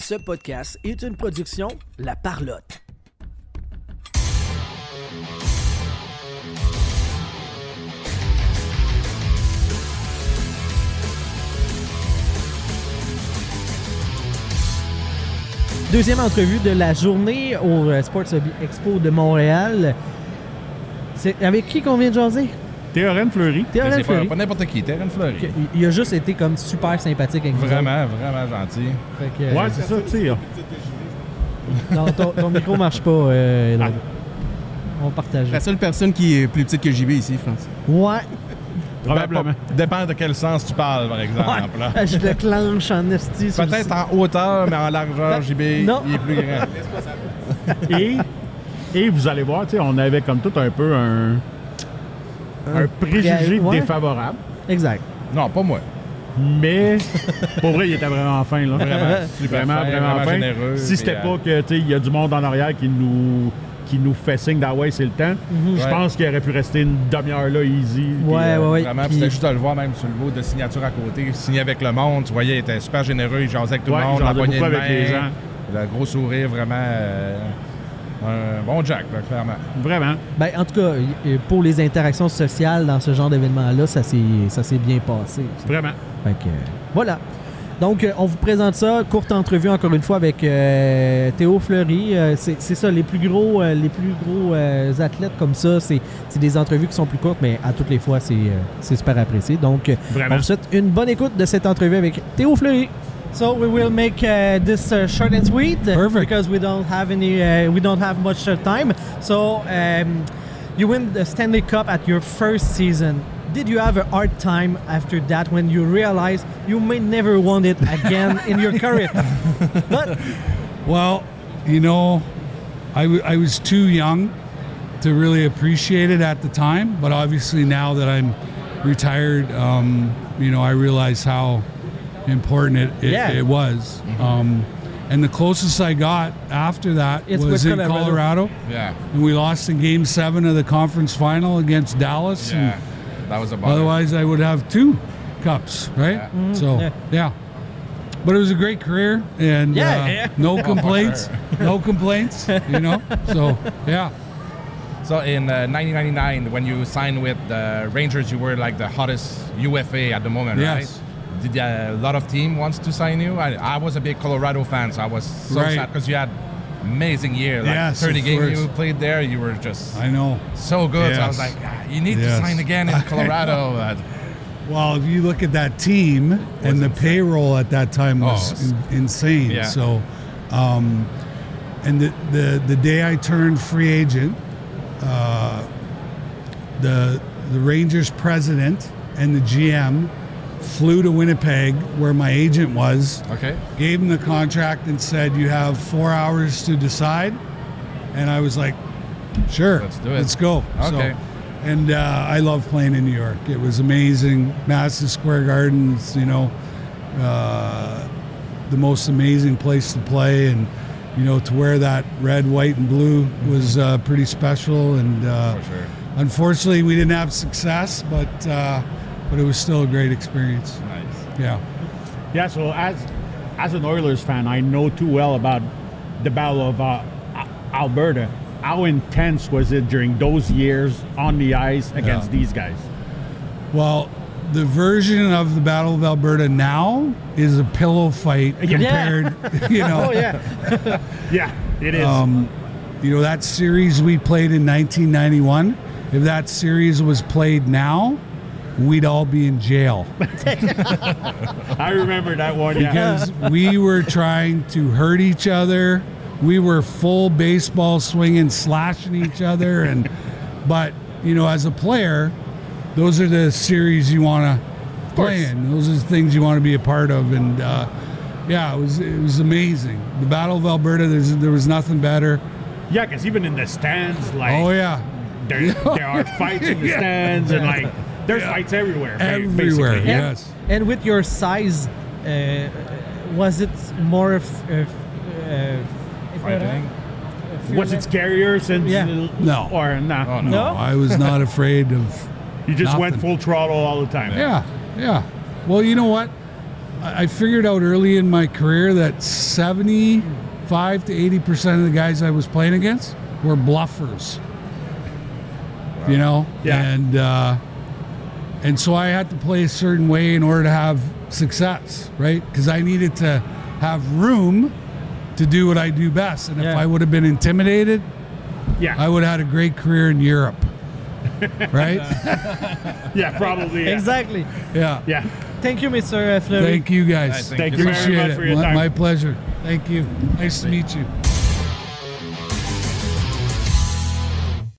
Ce podcast est une production La Parlotte. Deuxième entrevue de la journée au Sports Expo de Montréal. C'est avec qui qu'on vient de jaser? Théorème Fleury. Théorème Fleury. Pas n'importe qui, Théorème Fleury. Il a juste été comme super sympathique avec nous. Vraiment gentil. Fait que, Ouais, c'est ça, tu sais. Non, ton micro marche pas. On partage. La seule personne qui est plus petite que JB ici, France. Ouais. Probablement. Dépend de quel sens tu parles, par exemple. Là. Ouais. Je le clenche en esti. sur Peut-être le- en hauteur, mais en largeur, JB, Non. il est plus grand. Et vous allez voir, tu sais, on avait comme tout un peu un préjugé ouais. défavorable. Exact. Non, pas moi. Mais pour vrai, il était vraiment fin, là. Vraiment, super Vraiment, fin, vraiment fin. généreux. Si c'était puis, pas que, tu sais, il y a du monde en arrière qui nous fait signe d'Hawaii, c'est le temps. Je Ouais. pense qu'il aurait pu rester une demi-heure là, easy. puis, Ouais. Vraiment, Puis- puis c'était juste de le voir même sur le lot de signature à côté. Signé avec le monde, tu voyais, il était super généreux, il jasait avec tout Ouais, le monde, il jasait la poignée de beaucoup avec main, les gens. le gros sourire, vraiment un bon Jack, là, clairement. Vraiment. Ben, en tout cas, pour les interactions sociales dans ce genre d'événement-là, ça s'est bien passé. Vraiment. Fait que, voilà. Donc, on vous présente ça. Courte entrevue, encore une fois, avec Théo Fleury. C'est ça, les plus gros athlètes comme ça, c'est des entrevues qui sont plus courtes, mais à toutes les fois, c'est super apprécié. Donc, Vraiment. on vous souhaite une bonne écoute de cette entrevue avec Théo Fleury. So we will make this short and sweet because we don't have much time. So you win the Stanley Cup at your first season. Did you have a hard time after that when you realized you may never want it again in your career? But Well, you know, I was too young to really appreciate it at the time, but obviously now that I'm retired, you know, I realize how important it was. And the closest I got after that It's was with in Colorado. Colorado. Yeah, And we lost in Game 7 of the conference final against Dallas. yeah. That was a bummer. Otherwise, I would have 2 cups, right? Yeah. So, yeah. But it was a great career, and Yeah. no complaints. No complaints, you know? So, yeah. So in 1999, when you signed with the Rangers, you were like the hottest UFA at the moment, Yes. right? Did a lot of team wants to sign you? I was a big Colorado fan, so I was so Right. sad because you had amazing year. Like Yes, 30 of games course. you played there, you were just I know. so good. So I was Yes. like, you need to Yes. sign again in Colorado. Well, if you look at that team and the insane. payroll at that time was insane. Yeah. So, and the day I turned free agent, the Rangers president and the GM flew to Winnipeg, where my agent was, Okay. gave him the contract and said, "You have 4 hours to decide." And I was like, "Sure, Let's do it. Let's go." Okay. So, and I love playing in New York. It was amazing. Madison Square Gardens, you know, the most amazing place to play, and you know, to wear that red, white, and blue was pretty special. And For sure. unfortunately, we didn't have success, but it was still a great experience. Nice. Yeah. Yeah, so as an Oilers fan, I know too well about the Battle of Alberta. How intense was it during those years on the ice against these guys? Well, the version of the Battle of Alberta now is a pillow fight compared, you know. oh yeah, Yeah, it is. You know, that series we played in 1991, if that series was played now, we'd all be in jail I remember that one. Yeah. because we were trying to hurt each other. We were full baseball swinging, slashing each other, but you know, as a player, those are the series you want to play in. Those are the things you want to be a part of, and yeah, it was amazing. The Battle of Alberta, there was nothing better. Yeah, because even in the stands, like, Oh yeah, there are fights in the stands, and like, there's fights everywhere. everywhere. basically. Yes. and with your size, was it more Frightening. Was it scarier since? Yeah. No. Or nah? Oh, No, No? I was not afraid of. You just went Nothing. full throttle all the time. Yeah. Well, you know what? I figured out early in my career that 75 to 80% of the guys I was playing against were bluffers. Wow. You know? Yeah. And so I had to play a certain way in order to have success, right? Because I needed to have room to do what I do best. And if I would have been intimidated, I would have had a great career in Europe. Right? Yeah, probably. Yeah. Exactly. Yeah. Yeah. Thank you, Mr. Fleury. Thank you, guys. Thank you very Appreciate much it. for your time. My pleasure. Thank you. Nice to meet you.